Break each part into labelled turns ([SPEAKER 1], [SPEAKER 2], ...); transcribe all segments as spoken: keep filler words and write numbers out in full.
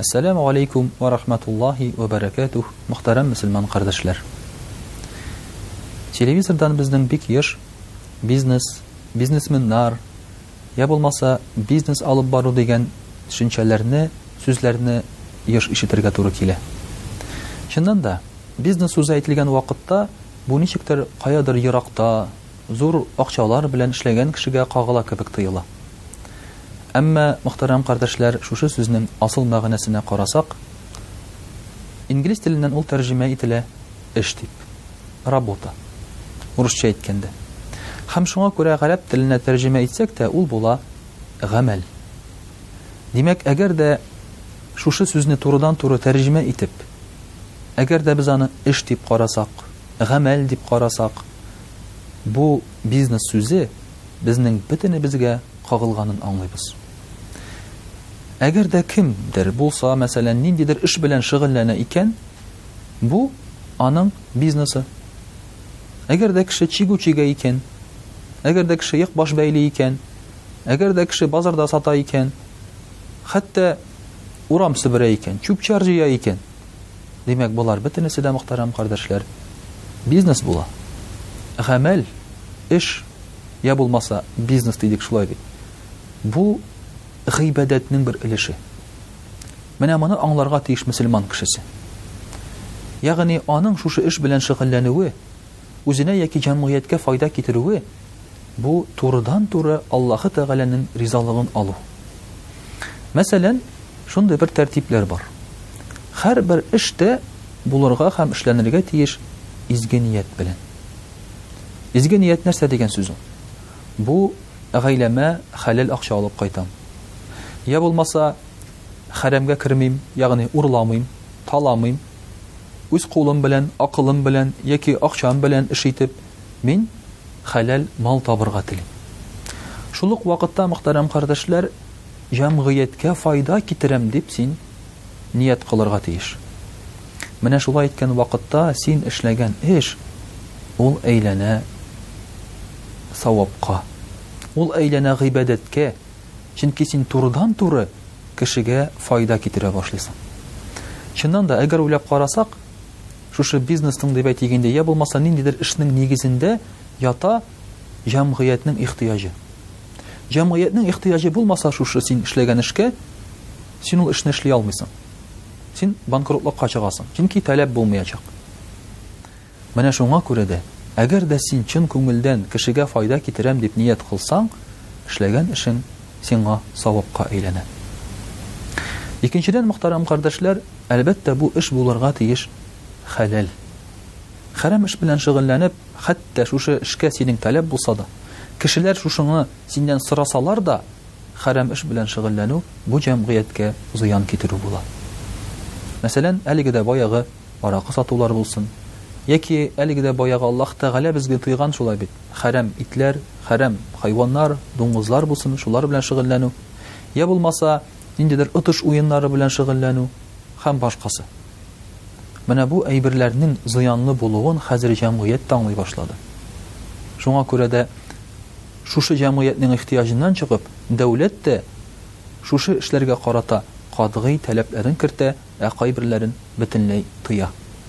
[SPEAKER 1] Ассаламу алейкум ва рахматуллахи ва баракатух, мөхтәрәм мөселман кардәшләр. Телевизордан безнең бик еш бизнес, бизнесменнар, я булмаса бизнес алып бару дигән төшенчәләрне, сүзләрне еш ишетергә туры килә. Чыннан да, бизнес сүзе әйтелгән вакытта бу ничектер каядыр еракта, зур акчалар белән эшләгән кешегә кагыла кебек тоела. Әмма, мөхтәрәм кардәшләр, шушы сүзнең асыл мәгънәсенә карасак, инглиз теленнән ул тәрҗемә ителә эш дип, работа, урысча әйткәндә. Һәм шуңа күрә гарәп теленә тәрҗемә итсәк тә, ул була гамәл. Димәк, әгәр дә шушы сүзне турыдан-туры тәрҗемә итеп, әгәр дә без аны эш дип карасак, гамәл дип карасак, бу бизнес сүзе безнең бөтенебезгә кагылганын аңлыйбыз. Әгәр дә кемдер булса, мәсәлән, ниндидер эш белән шөгыльләнә икән, бу аның бизнесы. Әгәр дә кеше чигү-чигә икән, әгәр дә кеше як баш бәйле икән, әгәр дә кеше базарда сата икән, хәтта урам себерә икән, чүп-чар җыя икән, димәк, булар бөтенесе дә, мөхтәрәм кардәшләр, бизнес була. Гамәл, эш, я булмаса бизнес дидек шулай бит. Бу гыйбадәтнең бер өлеше. Менә моны аңларга тиеш мөселман кешесе. Ягъни аның шушы эш белән шөгыльләнүе, үзенә яки җәмгыятькә файда китерүе, бу турыдан-туры Аллаһы Тәгаләнең ризалыгын алу. Мәсәлән, шундый бер тәртипләр бар. Һәрбер эштә булырга һәм эшләнергә тиеш изге ният белән. Изге ният нәрсә дигән сүз ул? Бу гаиләмә хәләл акча алып кайтам. Я булмаса хәрәмгә кермим, ягъни урламыйм, таламыйм. Үз кулым белән, акылым белән яки акчам белән эш итеп, мин хәләл мал табырга телим. Шул ук вакытта, мөхтәрәм кардәшләр, җәмгыятькә файда китерәм дип син ният кылырга тиеш. Менә шулай иткән вакытта син эшләгән эш ул әйләнә савапка. Ул әйләнә гыйбадәткә. Чөнки син турыдан-туры кешегә файда китерә башлыйсың. Чыннан да, әгәр уйлап карасак, шушы бизнесның дип әйтгәндә, я булмаса ниндидер эшнең нигезендә ята җәмгыятьнең ихтыяҗы. Җәмгыятьнең ихтыяҗы булмаса шушы син эшләгән эшкә, син ул эшне эшли алмыйсың. Син банкротлыкка чыгасың. Чөнки таләп булмаячак. Менә шуңа күрә дә, әгәр дә син чын күңелдән кешегә файда китерәм дип ният кылсаң, эшләгән эшең сиңа савапка әйләнә. Икенчедән, мөхтәрәм кардәшләр, әлбәттә бу эш булырга тиеш хәләл. Хәрам эш белән шөгыльләнеп, хәтта шушы эшкә синең таләп булса да, кешеләр шушыңны синнән сорасалар да, хәрам эш белән шөгыльләнү бу җәмгыятькә зыян китерү була. Мәсәлән, әлеге дә баягы аракы сатулар булсын, яки әлеге дә баягы Аллаһ Тәгалә безгә тыйган шулай бит. Хәрам итләр, хәрам хайваннар, дуңгызлар булсын, шулар белән шөгыльләнү. Я булмаса, ниндидер отыш уеннары белән шөгыльләнү һәм башкасы. Менә бу әйберләрнең зыянлы булуын хәзер җәмгыять таңлый башлады. Шуңа күрә дә шушы җәмгыятьнең ихтыяҗыннан чыгып, дәүләт тә шушы эшләргә карата катгый таләпләрен кертә, ә кайберләрен бөтенләй тыя.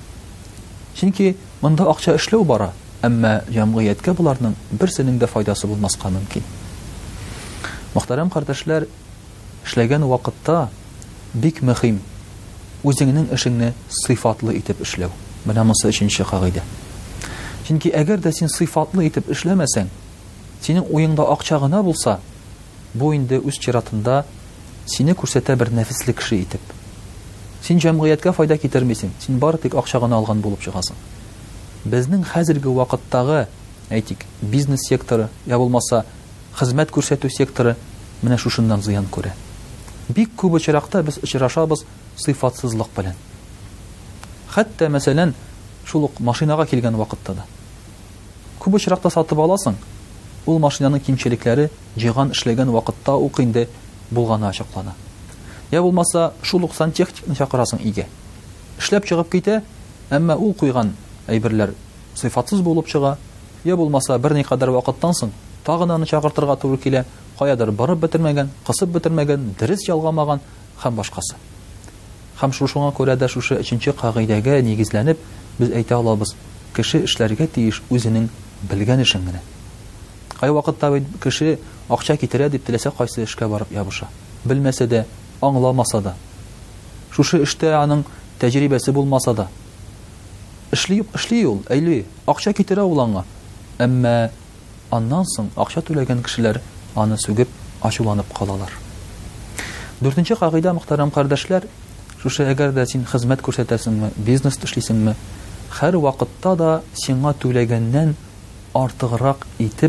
[SPEAKER 1] Чөнки монда акча эшләү бара, әмма җәмгыятькә буларның берсенең дә файдасы булмаска мөмкин. Мөхтәрәм кардәшләр, эшләгән вакытта бик мөһим үзеңнең эшеңне сыйфатлы итеп эшләү. Менә монысы өченче кагыйдә. Чөнки әгәр дә син сыйфатлы итеп эшләмәсәң, синең уеңда акча гына булса, бу инде үз чиратында сине күрсәтә бер нәфисле кеше итеп. Син җәмгыятькә файда китермисең, син бары тик акча гына алган булып чыгасың. Безнең хәзерге вакыттагы, әйтик, бизнес секторы, я булмаса хезмәт күрсәтү секторы менә шушыннан зыян күрә. Бик күп очракта без очрашабыз сыйфатсызлык белән. Хәтта, мәсәлән, шул ук машинага килгән вакытта да. Күп очракта сатып аласың, ул машинаның кимчелекләре җыйган эшләгән вакытта ук инде булганы ачыклана. Я булмаса, шул ук сантехникны чакырасың өйгә. Эшләп чыгып китә, әмма ул куйган әйберләр сыйфатсыз булып чыга. Я булмаса, бер никадәр вакыттан соң тагын аны чакыртырга туры килә, каядыр барып бетермәгән, кысып бетермәгән, дөрес ялгамаган һәм башкасы. Һәм шушыңа күрә дә шушы өченче кагыйдәгә нигезләнеп без әйтә алабыз: кеше эшләргә тиеш үзенең белгән эшен генә. Кай вакытта кеше акча китерә дип теләсә кайсы эшкә барып ябыша. Белмәсә дә, аңламаса да. Шушы эштә аның тәҗрибәсе булмаса да. Эшли, эшли ул, әйли, акча китерә ул аңа. Әмма аннан соң акча түләгән кешеләр аны сүгеп, ачуланып калалар. Дүртенче кагыйдә, мөхтәрәм кардәшләр, шушы әгәр дә син хезмәт күрсәтәсеңме, бизнес эшлисеңме, һәр вакытта да сиңа түләгәннән артыграк итеп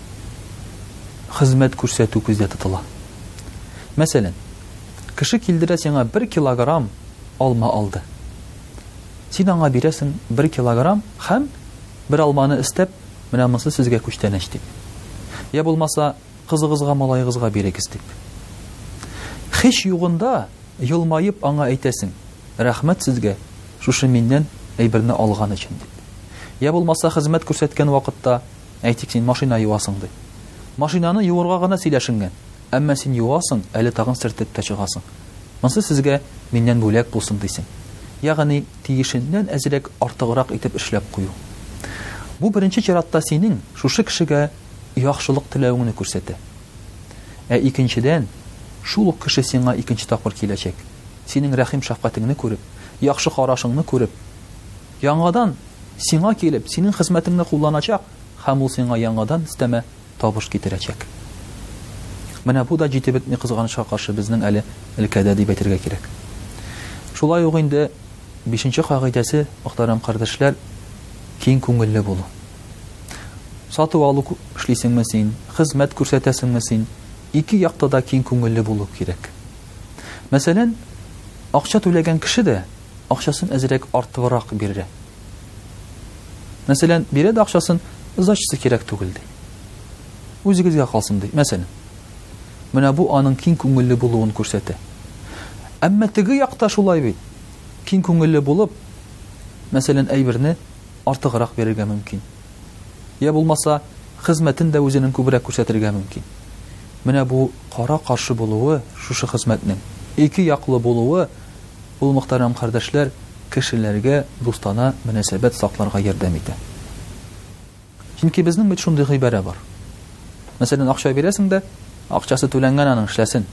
[SPEAKER 1] хезмәт күрсәтү күздә тотыла. Мәсәлән, кеше килдерә сиңа бер килограмм алма алды. Син аңа бирәсең бер килограмм һәм бер алманы истәп, менә монысы сезгә күчтәнәч дип. Я булмаса, кызыгызга, малайыгызга бирегез дип. Һич югында елмаеп аңа әйтәсең: "Рәхмәт сезгә, шушы миннән әйберне алган өчен" дип. Я булмаса, хезмәт күрсәткән вакытта әйтик, син машина юасың дип. Машинаны юырга гына сөйләшенгән, әмма син юасың, әле тагын сөртеп тә чыгасың. Монысы сезгә миннән бүләк булсын дисең. Ягъни тиешеннән әзрәк артыграк итеп эшләп кую. Бу беренче чиратта синең шушы кешегә яхшылык теләвеңне күрсәтә. Ә икенчедән, шул ук кеше сиңа икенче тапкыр киләчәк. Синең рәхим шәфкатеңне күреп, яхшы карашыңны күреп, яңадан сиңа килеп, синең хезмәтеңне кулланачак һәм ул сиңа яңадан истәмә табыш китерәчәк. Менә бу да җитеп бетми кызганычка каршы безнең әле өлкәдә дип әйтергә кирәк. Шулай ук инде бишенче кагыйдәсе, мөхтәрәм кардәшләр, киң күңелле булу. Сату алу эшлисеңме син, хезмәт күрсәтәсеңме син, ике якта да киң күңелле булу кирәк. Мәсәлән, акча түләгән кеше дә акчасын әзрәк артыграк бирә. Мәсәлән, бирә дә акчасын зачысы кирәк түгел ди. Үзегезгә калсын ди. Мәсәлән, менә бу аның киң күңелле булуын күрсәтә. Әмма теге якта шулай бит. Киң күңелле булып, мәсәлән, әйберне артыграк бирергә мөмкин. Я булмаса, хезмәтен дә үзенең күбрәк күрсәтергә мөмкин. Менә бу кара каршы булуы, шушы хезмәтнең ике яклы булуы, ул, мөхтәрәм кардәшләр, кешеләргә дустана мөнәсәбәт сакларга ярдәм итә. Чөнки безнең бит шундый гыйбарә бар. Мәсәлән, акча бирәсең дә, акчасы түләнгән аның эшләсен.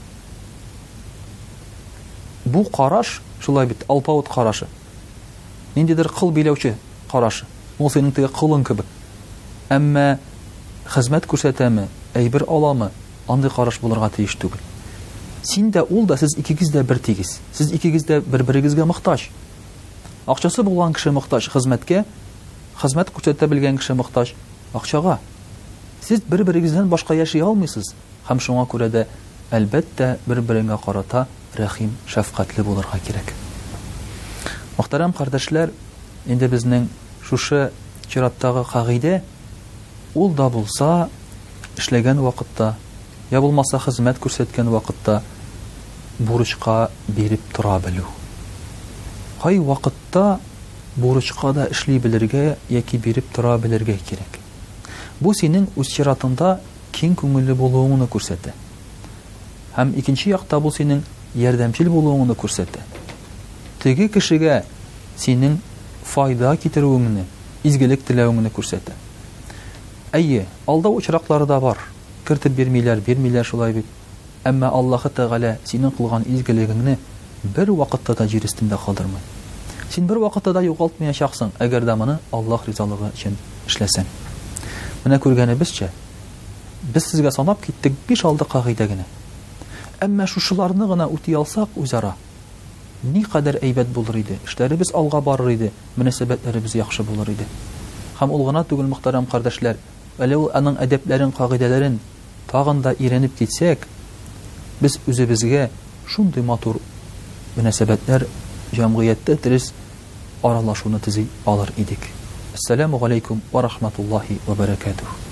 [SPEAKER 1] Бу караш, шулай бит, алпавыт карашы. Ниндидер кыл биләүче карашы. Ул синең теге кылың кебек. Әмма хезмәт күрсәтәме, әйбер аламы, андый караш булырга тиеш түгел. Син дә, ул да, сез икегез дә бер тигез. Сез икегез дә бер-берегезгә мохтаҗ. Акчасы булган кеше мохтаҗ хезмәткә, хезмәт күрсәтә белгән кеше мохтаҗ акчага. Сез бер-берегездән башка яши алмыйсыз. Һәм шуңа күрә дә әлбәттә бер-береңгә карата рәхим, шәфкатьле булырга кирәк. Мөхтәрәм кардәшләр, инде безнең шушы чираттагы кагыйдә ул да булса эшләгән вакытта, я булмаса хезмәт күрсәткән вакытта бурычка биреп тора белү. Кай вакытта бурычка да эшли белергә яки биреп тора белергә кирәк. Бу синең үз чиратында киң күңелле булуыңны күрсәтә. Һәм икенче якта бу синең ярдәмчел булуыңны күрсәтә. Теге кешегә синең файда китерүеңне, изгелек теләвеңне күрсәтә. Әйе, алдау очраклары да бар. Кертеп бирмиләр, бирмиләр шулай бит. Әмма Аллаһы Тәгалә синең кылган изгелегеңне бер вакытта да җир өстендә калдырмый. Син бер вакытта да югалтмаячаксың, әгәр дә моны Аллаһ ризалыгы өчен эшләсәң. Менә күргәнебезчә, без сезгә санап киттек биш-алты кагыйдә генә. Әмма шушыларны гына үти алсак үзара, ни кадәр әйбәт булыр иде, эшләребез алга барыр иде, мөнәсәбәтләребез яхшы булыр иде. Һәм ул гына түгел, мөхтәрәм кардәшләр, әле ул аның әдәпләрен, кагыйдәләрен тагын да иренеп китсәк, без үзебезгә шундый матур мөнәсәбәтләр, җәмгыятьтә дөрес аралашуны төзи алыр идек. Ассаламу алейкум ва рахматуллаһи ва баракатуһ.